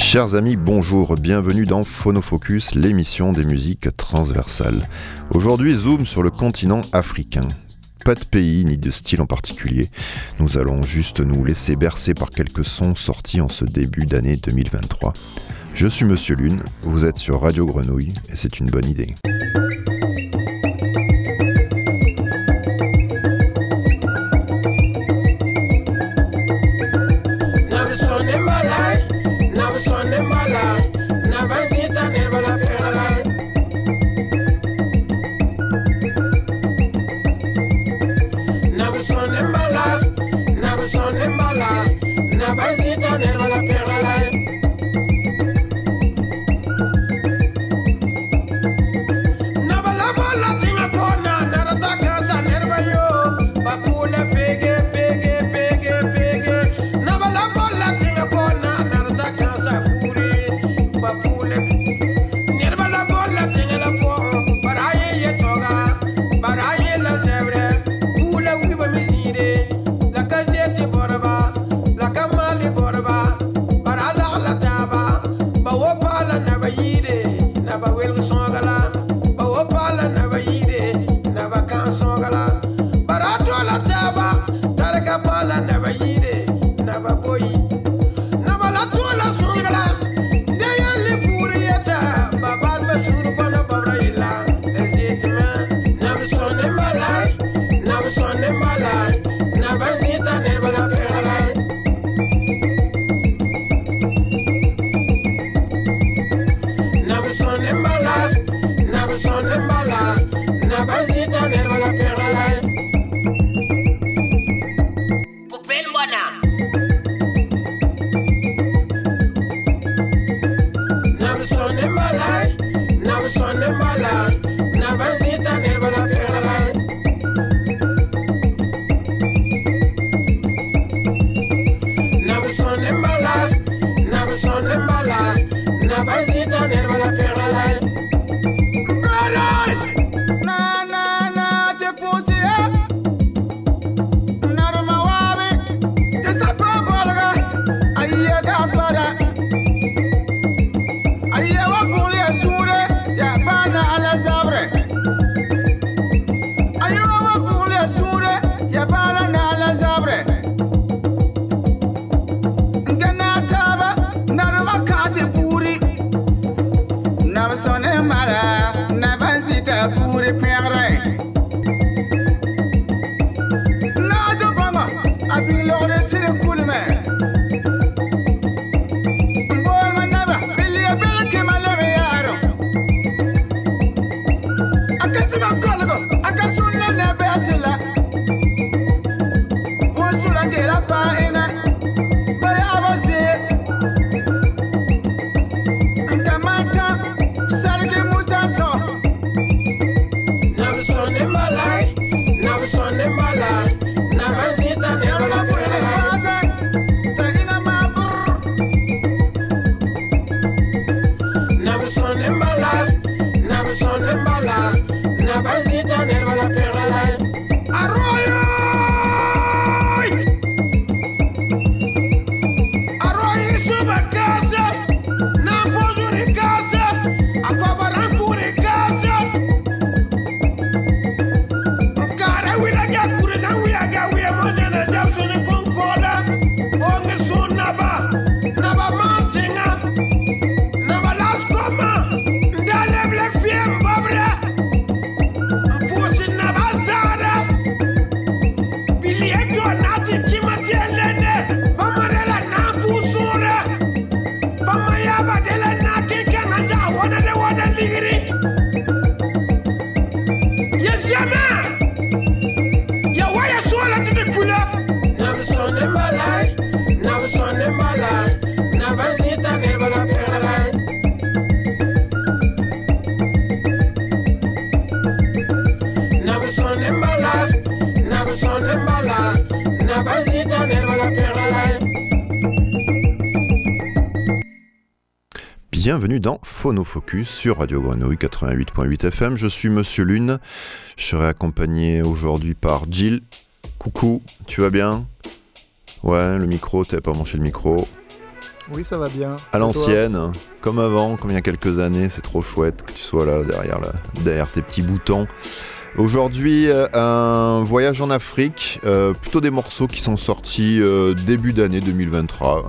Chers amis, bonjour, bienvenue dans Phonofocus, l'émission des musiques transversales. Aujourd'hui, zoom sur le continent africain. Pas de pays ni de style en particulier. Nous allons juste nous laisser bercer par quelques sons sortis en ce début d'année 2023. Je suis Monsieur Lune, vous êtes sur Radio Grenouille et c'est une bonne idée. Bienvenue dans Phonofocus sur Radio Grenouille 88.8 FM. Je suis Monsieur Lune. Je serai accompagné aujourd'hui par Jill. Coucou, tu vas bien? Ouais, le micro, t'avais pas branché le micro. Oui, ça va bien. À l'ancienne, comme avant, comme il y a quelques années, c'est trop chouette que tu sois là derrière tes petits boutons. Aujourd'hui, un voyage en Afrique, plutôt des morceaux qui sont sortis début d'année 2023.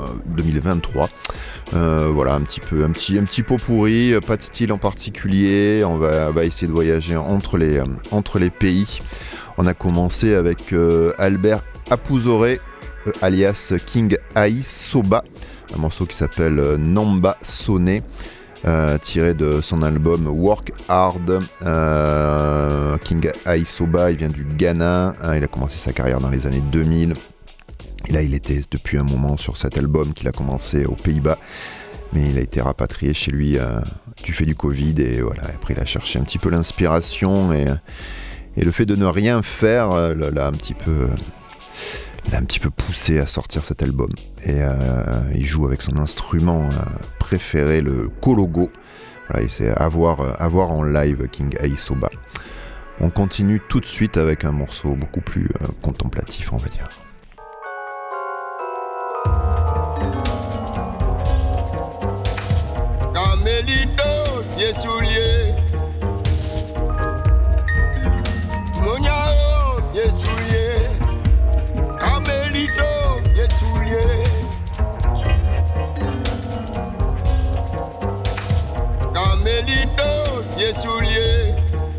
Voilà, un petit pot pourri, pas de style en particulier. On va essayer de voyager entre les pays. On a commencé avec Albert Apuzoré, alias King Aisoba, un morceau qui s'appelle Namba Sonné. Tiré de son album Work Hard. King Aisoba, il vient du Ghana, il a commencé sa carrière dans les années 2000 et là il était depuis un moment sur cet album qu'il a commencé aux Pays-Bas, mais il a été rapatrié chez lui du fait du Covid et voilà, après il a cherché un petit peu l'inspiration et le fait de ne rien faire l'a un petit peu poussé à sortir cet album. Et il joue avec son instrument préféré, le kologo. Voilà, c'est à voir en live, King Aisoba. On continue tout de suite avec un morceau beaucoup plus contemplatif, on va dire. Camelito, Yesoulier. Moniao, Yesoulier. Camelito, Yesoulier. Camelito, Yesoulier.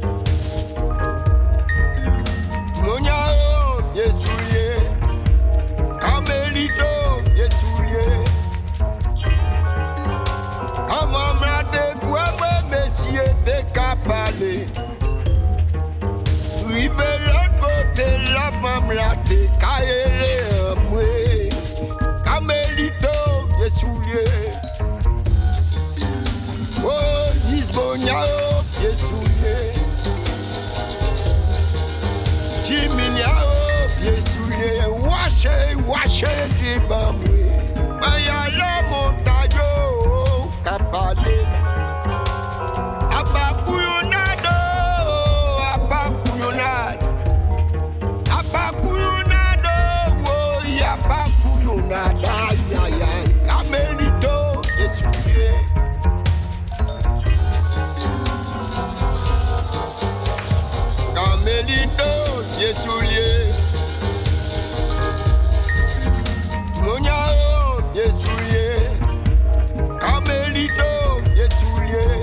Moniao, Yesoulier. Camelito, Yesoulier. Amamrate, toi, messieurs, t'es capalé. Rive l'autre côté, la mamrate, kaele amwe. Camelito, Yesoulier. Oh, Isboniao, Yesoulier. Jiminiao, Yesoulier. Wache, Kibamwe. Bayala montayo, kapale. Abakuyunado. Abakuyunado, oh, Abakuyunado, ay. Camelito, Yesoulier. Camelito, Yesoulier. Moniao, Yesoulier. Camelito, Yesoulier.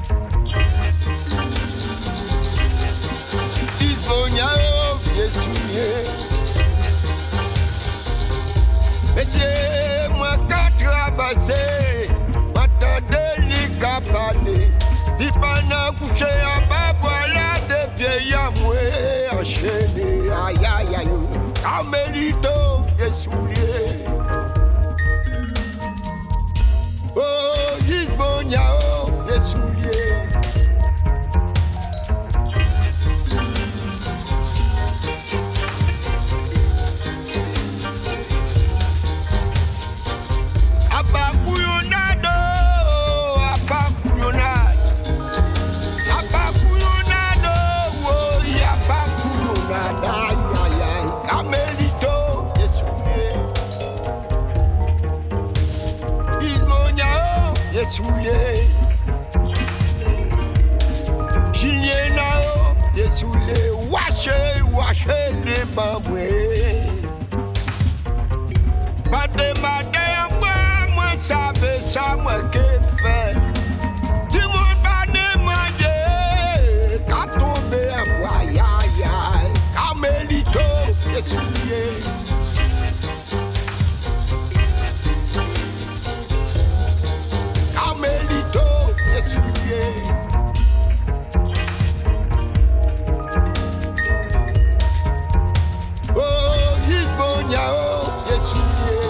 Isboniao, Yesoulier. Messieurs, moi qu'à traverser, m'attendez les capanes. Il pas n'a couché à bas, voilà des pieds à moi enchaînés. Aïe. Camelito, Yesoulier. Oh, Isboniao, Yesoulier. Abakuyunado, oh, Abakuyunado, ay. Camelito, Yesoulier. Ismoniao, Yesoulier. Jinienao, Yesoulier. Wache, les baboués. Pas de matin, moi, savais ça, moi, que fait. Si mon panne m'a dit, qu'à tomber à bois, aïe. Camelito, Yesoulier. Camelito, Yesoulier. Oh, Isboniao, Yesoulier.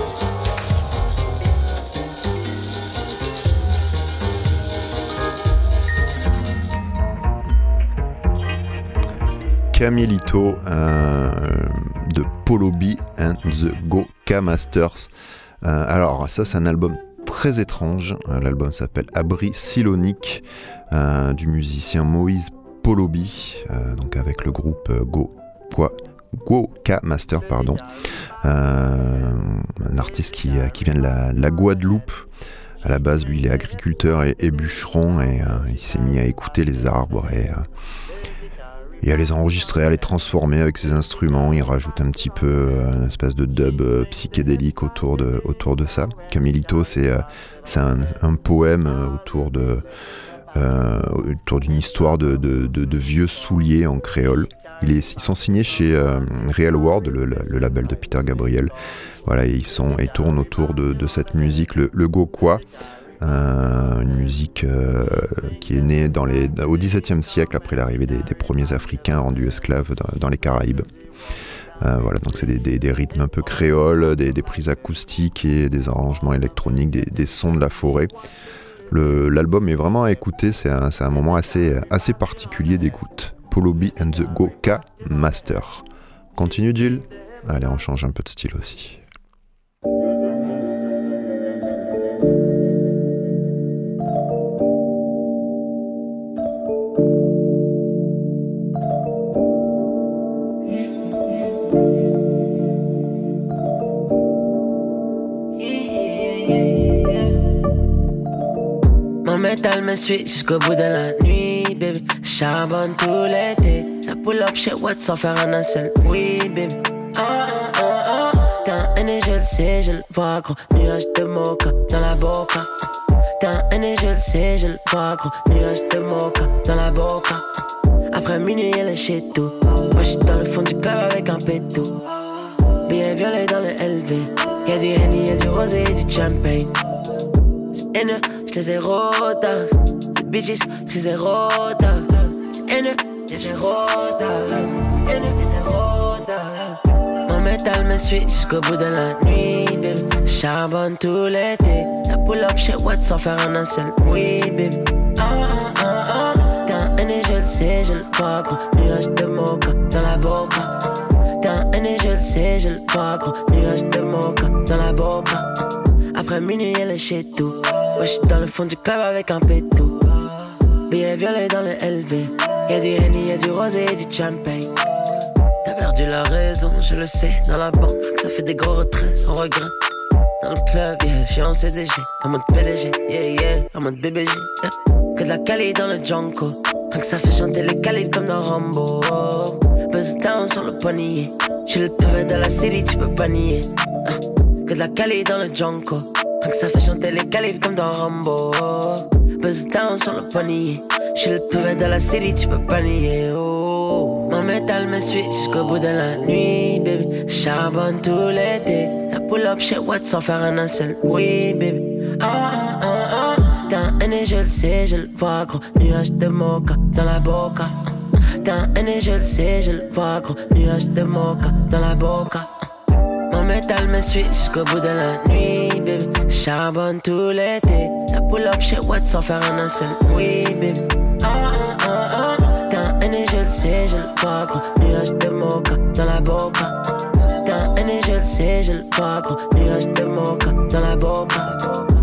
Camelito de Polo B and the Goka Masters. Alors ça c'est un album très étrange, l'album s'appelle Abri Silonique du musicien Moïse Polo B, donc avec le groupe Goka Master, un artiste qui vient de la Guadeloupe. À la base, lui, il est agriculteur et bûcheron, et il s'est mis à écouter les arbres et à les enregistrer, à les transformer avec ses instruments. Il rajoute un petit peu une espèce de dub psychédélique autour de ça. Camilito, c'est un poème autour d'une histoire de vieux souliers en créole. Ils sont signés chez Real World, le label de Peter Gabriel. Voilà, ils tournent autour de cette musique, le Gokwa. Une musique qui est née au XVIIe siècle, après l'arrivée des premiers Africains rendus esclaves dans les Caraïbes. Voilà, donc c'est des rythmes un peu créoles, des prises acoustiques et des arrangements électroniques, des sons de la forêt. L'album est vraiment à écouter, c'est un moment assez particulier d'écoute. Polo B and the Goka Master. Continue, Jill. Allez, on change un peu de style aussi. Mon métal me suit jusqu'au bout de la nuit, baby. Charbonne tout l'été. Ça pull up chez Watt sans faire un seul oui, baby. T'es un aîné, je le sais, je le vois, gros. Nuage de mocha dans la boca. T'es un aîné, je le sais, je le vois, gros. Nuage de mocha dans la boca. Après minuit, elle est chez tout. Moi, j'suis dans le fond du club avec un pétou. Billet violet dans le LV. Y'a du Henny, y'a du rosé, y'a du champagne. C'est haineux, j'les ai rodave. C'est bitches, j'les ai rodave. C'est haineux, j'les ai rodave. C'est haineux, j'les ai rodave. Mon métal me suit jusqu'au bout de la nuit, baby. Charbonne tout l'été. Ça pull up chez Watt sans faire un seul oui, baby. T'es un aîné, je le sais, je le vois, gros. Nuage de mocha dans la boca. T'es un aîné, je le sais, je le vois, gros. Nuage de mocha dans la boca. Après minuit, elle est chez tout. Moi, j'suis dans le fond du club avec un pétou. Billet violet dans le LV. Y'a du Henny, y'a du rosé, y'a du champagne. T'as perdu la raison, je le sais. Dans la banque, ça fait des gros retraits sans regret. Dans le club, yeah, j'suis en CDG. En mode PDG, yeah, yeah. En mode BBG, yeah. Que de la Cali dans le Junko. Rien que ça fait chanter les calibres comme dans Rambo. Buzz down sur le poignet. J'suis le PV de la city, tu peux pas nier. Que de la Cali dans le Junko. Rien que ça fait chanter les calibres comme dans Rambo. Buzz down sur le poignet. J'suis le PV de la city, tu peux pas nier. Oh. Mon métal me suit jusqu'au bout de la nuit, baby. Charbonne tout l'été. Ça pull up chez Watt sans faire un seul oui, baby. T'es un aîné, je le sais, je le vois, gros. Nuage de mocha dans la boca. T'es un aîné, je le sais, je le vois, gros. Nuage de mocha dans la boca. Mon métal me suit jusqu'au bout de la nuit, baby. Charbonne tout l'été. Ça pull up chez Watt sans faire un seul oui, baby. T'es un aîné, je le sais, je le vois, gros. Nuage de mocha dans la boca. T'es un aîné, je le sais, je le vois, gros. Nuage de mocha dans la boca.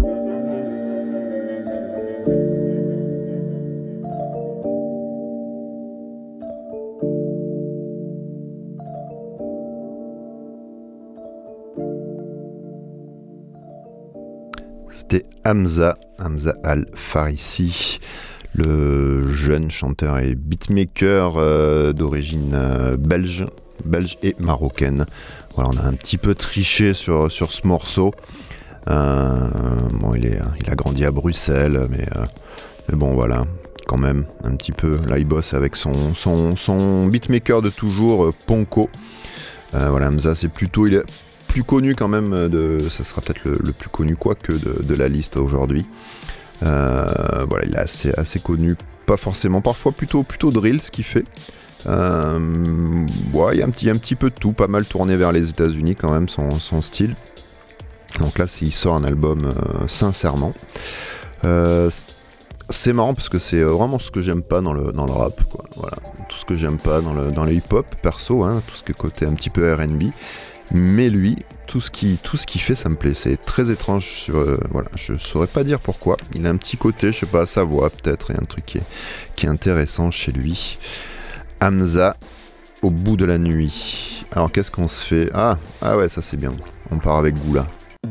C'était Hamza Al-Farisi, le jeune chanteur et beatmaker d'origine belge et marocaine. Voilà, on a un petit peu triché sur ce morceau. Bon, il a grandi à Bruxelles, mais bon, voilà, quand même, un petit peu. Là, il bosse avec son beatmaker de toujours, Ponko. Voilà, Hamza, c'est plutôt... Il est plus connu quand même, ça sera peut-être le plus connu quoique de la liste aujourd'hui. Voilà, il est assez connu, pas forcément, parfois plutôt drill ce qu'il fait. Ouais, il y a un petit peu de tout, pas mal tourné vers les États-Unis quand même son style. Donc là, il sort un album sincèrement. C'est marrant parce que c'est vraiment ce que j'aime pas dans le rap, quoi. Voilà, tout ce que j'aime pas dans le hip-hop perso, hein, tout ce que côté un petit peu R&B. Mais lui, tout ce qu'il fait, ça me plaît. C'est très étrange. Voilà, je saurais pas dire pourquoi. Il a un petit côté, je sais pas, sa voix peut-être, et un truc qui est intéressant chez lui. Hamza, au bout de la nuit. Alors qu'est-ce qu'on se fait? Ah ouais, ça c'est bien. On part avec Goula.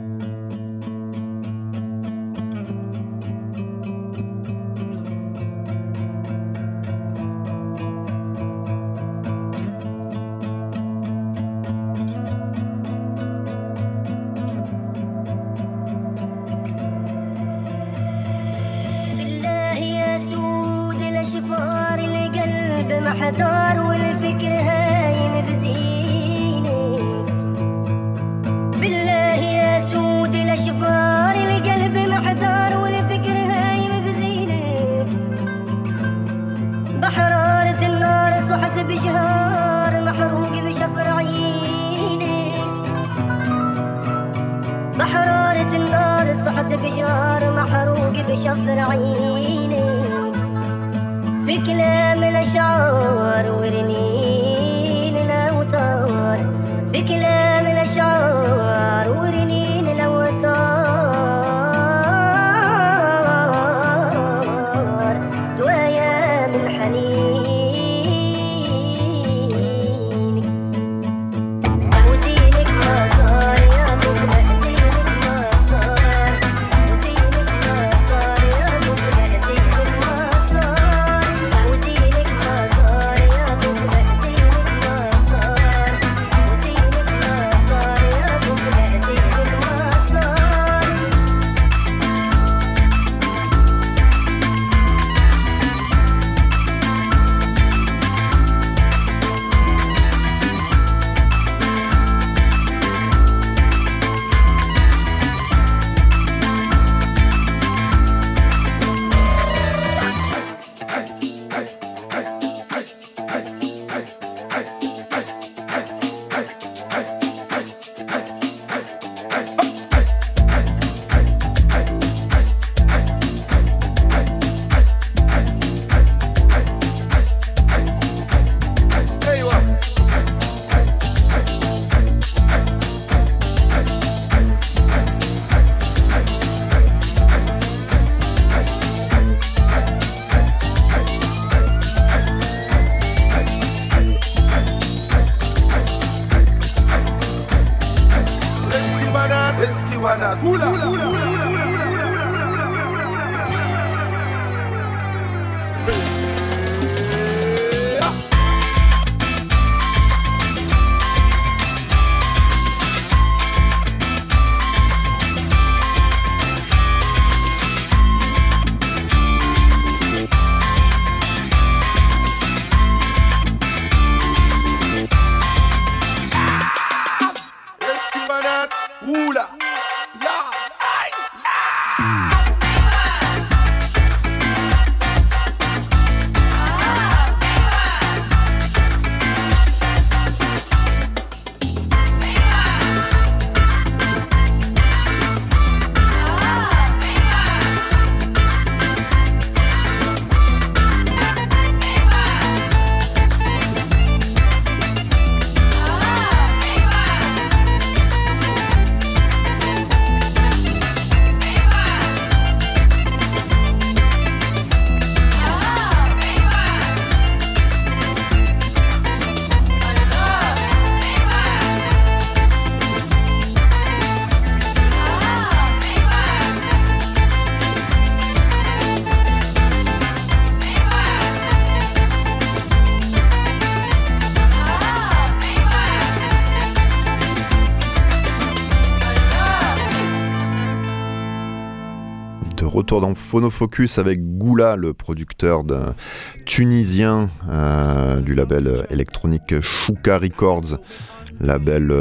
Retour dans Phonofocus avec Goula, le producteur tunisien du label électronique Chouka Records, label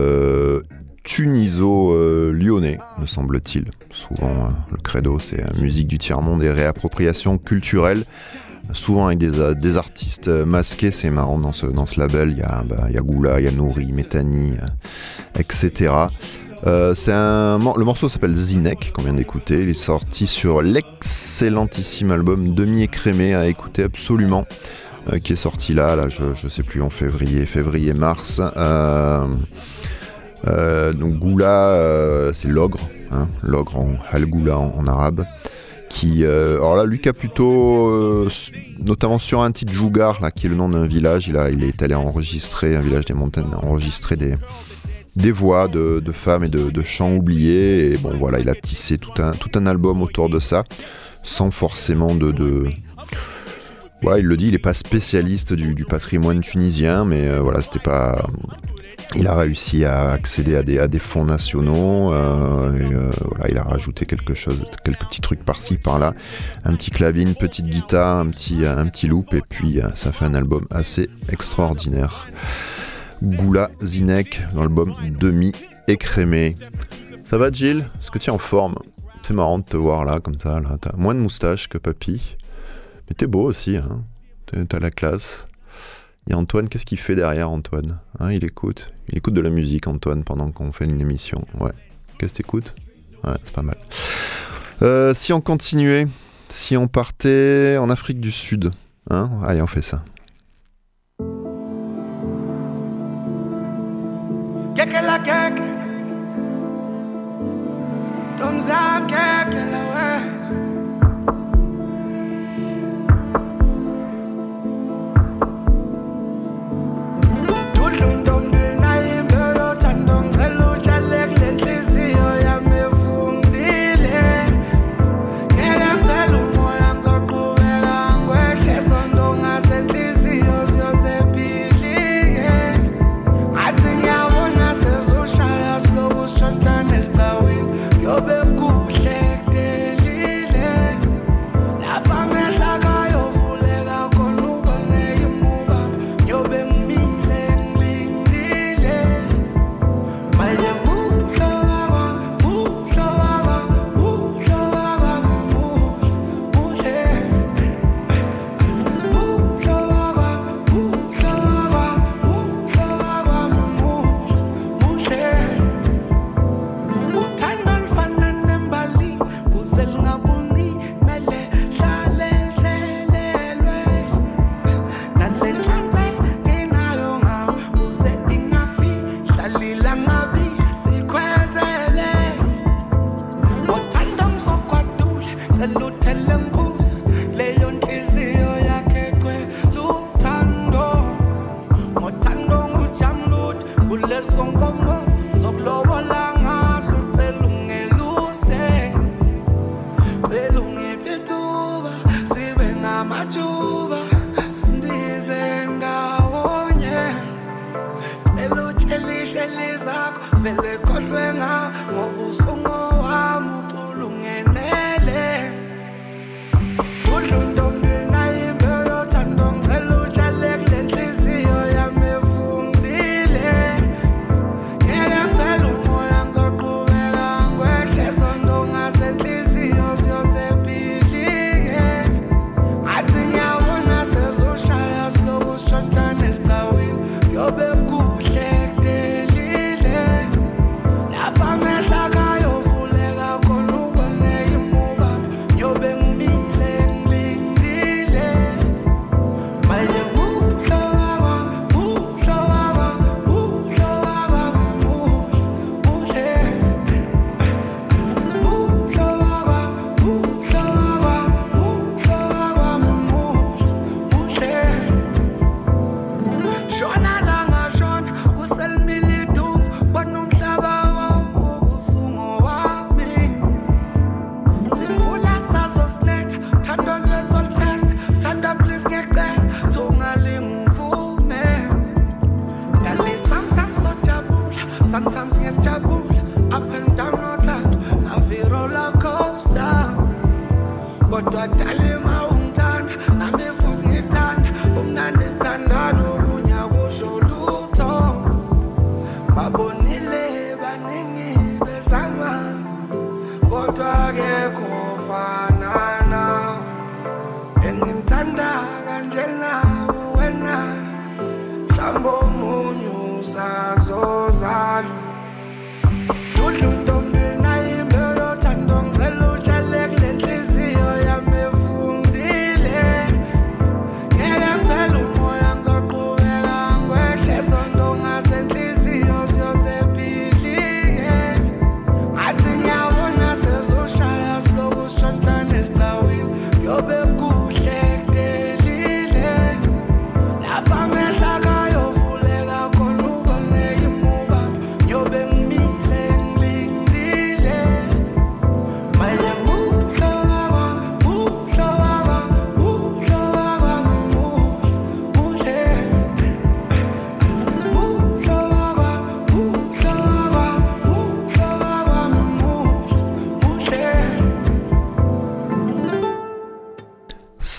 tuniso-lyonnais, me semble-t-il. Souvent, le credo, c'est musique du tiers-monde et réappropriation culturelle. Souvent avec des artistes masqués, c'est marrant dans ce label. Il y a Goula, il y a Nouri, Métani, etc. Le morceau s'appelle Zinek, qu'on vient d'écouter. Il est sorti sur l'excellentissime album Demi-écrémé à écouter absolument, qui est sorti là je sais plus, en février-mars. Donc Goula, c'est l'ogre, l'ogre en Al Goula en arabe, qui, alors là, Lucas plutôt, notamment sur un titre Jougar, là, qui est le nom d'un village, il est allé enregistrer, un village des montagnes, enregistrer des voix de femmes et de chants oubliés, et bon voilà, il a tissé tout un album autour de ça, sans forcément voilà, il le dit, il n'est pas spécialiste du patrimoine tunisien, mais voilà, c'était pas... Il a réussi à accéder à des fonds nationaux, voilà, il a rajouté quelques petits trucs par-ci, par-là, un petit clavier, une petite guitare, un petit loop, et puis ça fait un album assez extraordinaire. Goula Zinek dans l'album Demi-écrémé. Ça va, Jill? Est-ce que tu es en forme? C'est marrant de te voir là, comme ça, là. T'as moins de moustache que papy. Mais t'es beau aussi, hein. T'as la classe. Il y a Antoine, qu'est-ce qu'il fait derrière, Antoine, hein? Il écoute de la musique, Antoine, pendant qu'on fait une émission. Ouais. Qu'est-ce que t'écoutes? Ouais, c'est pas mal. Si on continuait, si on partait en Afrique du Sud, hein? Allez, on fait ça. Kekela keke Tomzam kekela we Tudlun tombil na imlo yo tandong Trelo chalek lentlisiyo ya mefundile Ngeke mpelu moya mzokubeka ngweshe sondonga sentli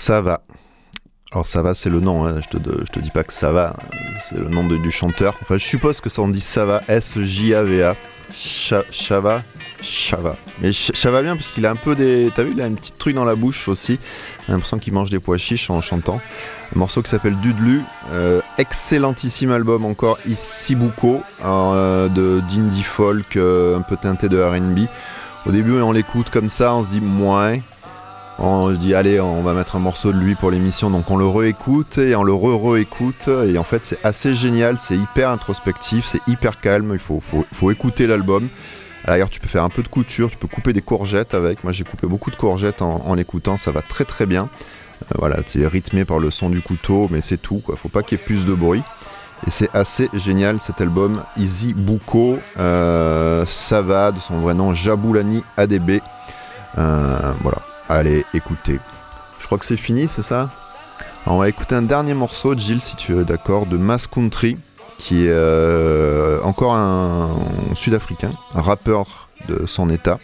Ça va. Alors ça va, c'est le nom, hein. Je te dis pas que ça va, c'est le nom du chanteur. Enfin, je suppose que ça on dit ça va, S-J-A-V-A. Chava. Mais ça va bien parce qu'il a un peu des... T'as vu, il a un petit truc dans la bouche aussi. J'ai l'impression qu'il mange des pois chiches en chantant. Un morceau qui s'appelle Dudlu. Excellentissime album encore, Isibuko, d'indie folk, un peu teinté de R&B. Au début, on l'écoute comme ça, on se dit moins. Je dis allez, on va mettre un morceau de lui pour l'émission, donc on le réécoute et on le réécoute et en fait c'est assez génial, c'est hyper introspectif, c'est hyper calme, il faut écouter l'album. D'ailleurs tu peux faire un peu de couture, tu peux couper des courgettes avec, moi j'ai coupé beaucoup de courgettes en l'écoutant, ça va très très bien. Voilà, c'est rythmé par le son du couteau, mais c'est tout, quoi. Faut pas qu'il y ait plus de bruit. Et c'est assez génial cet album, Isibuko, ça va, de son vrai nom Jabulani ADB. Voilà. Allez, écoutez. Je crois que c'est fini, c'est ça ? Alors, on va écouter un dernier morceau, Gilles, si tu es d'accord, de Mass Country, qui est encore un Sud-Africain, un rappeur de son état.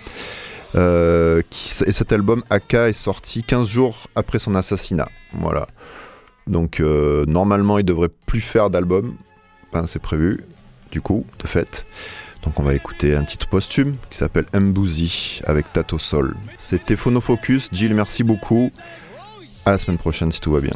Et cet album, Aka, est sorti 15 jours après son assassinat. Voilà. Donc, normalement, il devrait plus faire d'album. Enfin, c'est prévu, du coup, de fait. Donc on va écouter un titre posthume qui s'appelle Mbuzi avec Tato Sol. C'était Phonofocus. Gilles, merci beaucoup. À la semaine prochaine si tout va bien.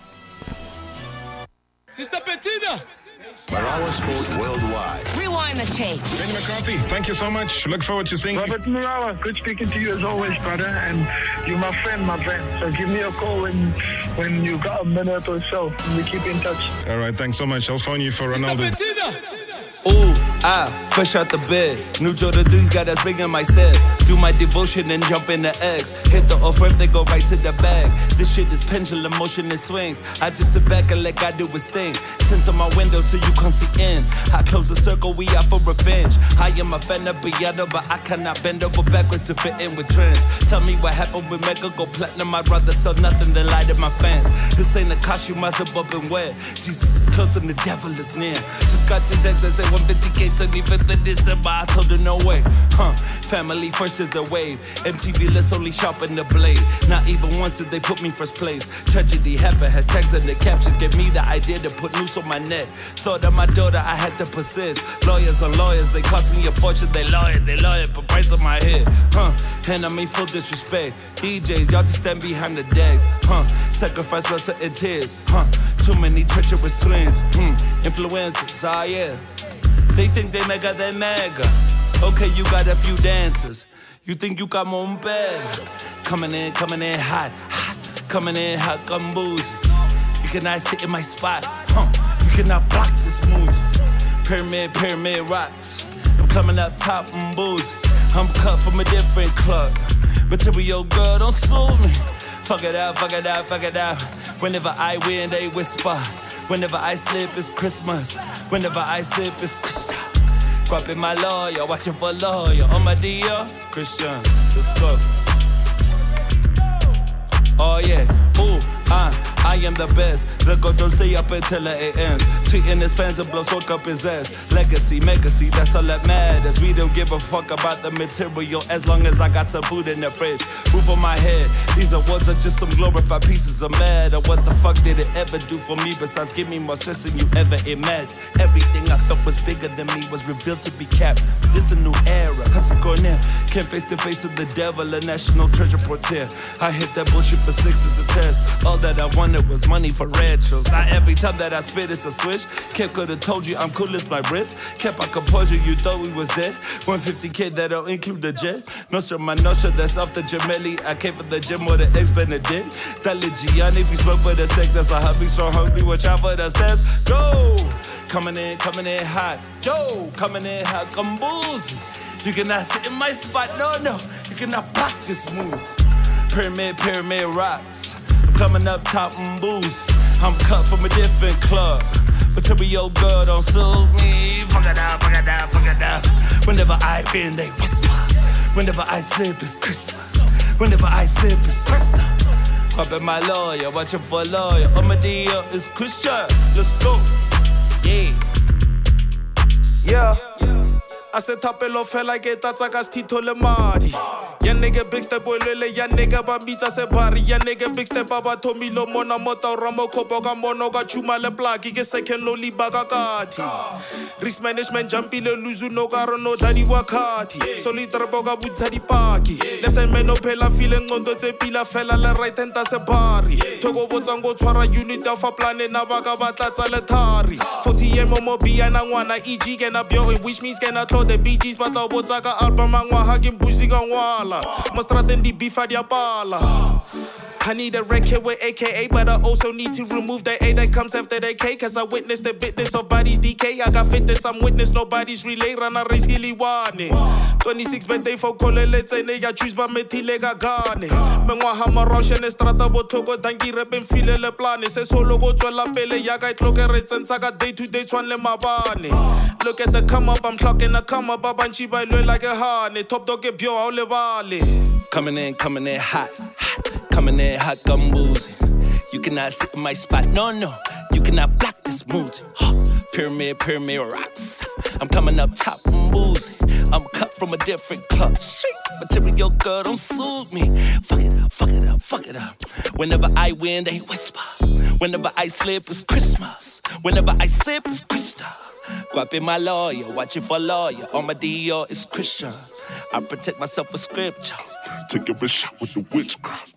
Marawa Sports Worldwide. Rewind the tape. Benny McCarthy, thank you so much. Look forward to seeing you. Robert Marawa, good speaking to you as always, brother. And you're my friend. So give me a call when you got a minute or so. And we keep in touch. All right, thanks so much. I'll phone you for Ronaldo. Ooh, fresh out the bed. New Jordan 3's got us big in my step. Do my devotion and jump in the X. Hit the off-ramp, they go right to the bag. This shit is pendulum motion and swings. I just sit back and let God do his thing. Tint on my window so you can't see in. I close the circle, we out for revenge. I am a fan of Beato, but I cannot bend over backwards to fit in with trends. Tell me what happened with Mega go platinum. I'd rather sell nothing than lie to my fans. This ain't a costume, I zip up and wear. Jesus is close and the devil is near. Just got the text that say 150K took me 5th of December, I told her no way. Family first is the wave. MTV, let's only sharpen the blade. Not even once did they put me first place. Tragedy happened, hashtags and the captions gave me the idea to put noose on my neck. Thought of my daughter, I had to persist. Lawyers on lawyers, they cost me a fortune. They lawyer, but price on my head. And I mean full disrespect. DJs, y'all just stand behind the decks. Sacrifice blood, sweat and tears. Too many treacherous twins. Influencers, yeah. They think they mega. Okay, you got a few dancers. You think you got more bad. Coming in hot. Coming in hot, boozy. You cannot sit in my spot. You cannot block this move. Pyramid rocks. I'm coming up top and boozy. I'm cut from a different club. Material girl, don't sue me. Fuck it out. Whenever I win, they whisper. Whenever I slip, it's Christmas. Whenever I sip, it's crystal. Grabbing my lawyer, watching for lawyer. On my DR, Christian, let's go. Oh yeah, ooh, I am the best. The God don't say up until it ends. Tweeting his fans and blow soak up his ass. Legacy, that's all that matters. We don't give a fuck about the material as long as I got some food in the fridge. Roof on my head. These awards are just some glorified pieces of matter. What the fuck did it ever do for me besides give me more stress than you ever imagined? Everything I thought was bigger than me was revealed to be capped. This a new era. Hunter Cornell came face to face with the devil, a national treasure portier. I hit that bullshit for 6 as a test. All that I wanted was money for retros. Not every time that I spit it's a switch. Kept could've told you I'm cool as my wrist. Kept our composure, you thought we was dead. 150K that don't include the jet. No sure, that's off the Gemelli. I came from the gym with the ex-Benedict. That Gianni, if you smoke for the sec, that's a hubby so hungry. Watch out for the steps. Go! Coming in hot. Yo, coming in hot, come boozy. You cannot sit in my spot, no. You cannot block this move. Pyramid rocks. I'm coming up top and booze. I'm cut from a different club. Material girl don't sue me. Fuck it out. Whenever I win, they whisper. Whenever I slip, it's Christmas. Whenever I sip, it's Christmas. Grabbing my lawyer, watching for a lawyer. On my deal, it's Christian. Let's go. Yeah. I said tapelo fela que tatsa castito le mari. Ya nigga big step boy lele, ya nigga bambita se bari. Ya nigga big step baba Tommy lo mona mota ramo kopo ga mono ga chuma le plaki ke second lo li baga kati. Risk management jumpy le luzu no garo no tadi wakati. Soli trabo ga buta di paki. Left hand man no pela feeling on the pila fella le right hand ta se bari. Togo botsango twara unit of a planet na baga batata le tari. 40 mo bia na ngwana EG ke na bio which means ke na close the BGs but o botsaka album ngwa ha ke mbusi ka ngwala. Mostraten di bifa dia pala. I need a record with AKA, but I also need to remove the A that comes after the K. Cause I witnessed the business of bodies decay. I got fitness, I'm witness, nobody's relay. Rana risky liwane. 26 birthday for Kole, let's say nigga choose by metile gagane. Mengwa hama Roshan estrata botogo dangi repen file le plane. Se solo go to la pele, yaga itloke retsen saga day to day twan le mabane. Look at the come up, I'm clocking the come up, babanchi by low like a hane. Top dog get bio, all le vale. Coming in hot. Coming in hot gumboos. You cannot sit in my spot, no. You cannot block this mood. Pyramid rocks. I'm coming up top, I'm boozy. I'm cut from a different club. Material girl, don't suit me. Fuck it up. Whenever I win, they whisper. Whenever I slip, it's Christmas. Whenever I sip, it's Krista. Guap my lawyer, watching for lawyer. On my Dior, it's Christian. I protect myself with scripture. Take a shot with the witchcraft.